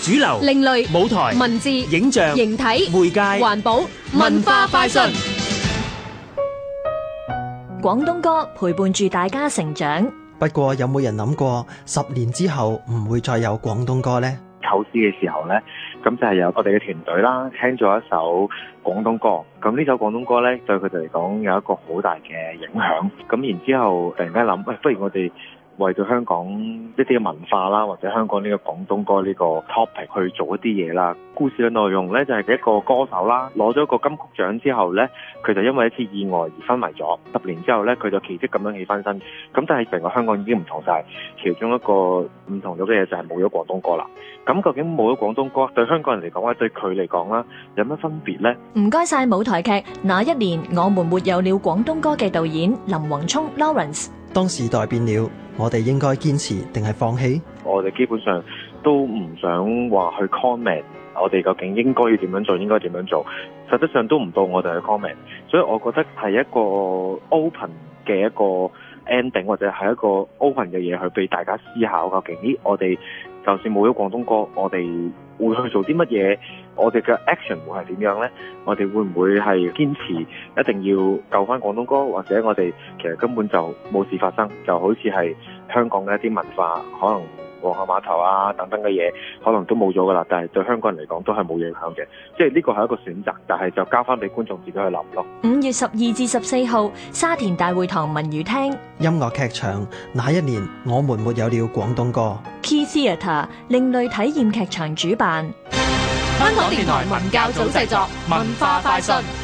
主流、 另類、 舞台、 文字、 影像、 形體、 媒介、 環保、文化快訊。 廣東歌陪伴住大家成長。 不過有冇人諗過10年之後唔會再有廣東歌呢？ 構思嘅時候呢，咁就係有我哋嘅團隊啦，聽咗一首廣東歌。咁呢首廣東歌呢，對佢哋嚟講有一個好大嘅影響。咁然之後突然間諗，不如我哋為咗香港一啲嘅文化啦，或者香港呢個廣東歌呢個 topic 去做一啲嘢啦。故事嘅內容呢，就係一個歌手啦，攞咗個金曲獎之後呢，佢就因為一次意外而昏迷咗。10年之後呢，佢就奇蹟咁樣起翻身。咁但係成個香港已經唔同晒，其中一個唔同咗嘅嘢就係冇咗廣東歌啦。咁究竟冇咗廣東歌對香港人嚟講或者對佢嚟講啦，有乜分別呢？ 唔該晒舞台劇《那一年我們沒有了廣東歌》嘅導演林宏聰 Lawrence。 當時代變了，我哋應該堅持定係放棄？ 我哋基本上都唔想話去 comment， 我哋究竟應該要點樣做，應該點樣做，實質上都唔到我哋去 comment， 所以我覺得係一個 open 嘅一個 ending， 或者係一個 open 嘅嘢去俾大家思考，究竟我哋就算冇咗廣東歌，我哋會去做啲乜嘢？我哋嘅 action 會係點樣呢？我哋會唔會係堅持一定要救翻廣東歌，或者我哋其實根本就冇事發生，就好似係香港嘅一啲文化，可能皇后碼頭啊等等嘅嘢，可能都冇咗噶啦。但係對香港人嚟講都係冇影響嘅，即係呢個係一個選擇，但係就交翻俾觀眾自己去諗咯。 5月12至14號，沙田大會堂文娛廳音樂劇場，那一年我們沒有了廣東歌。 Key Theatre 另類體驗劇場主辦。 香港電台文教組製作，文化快訊。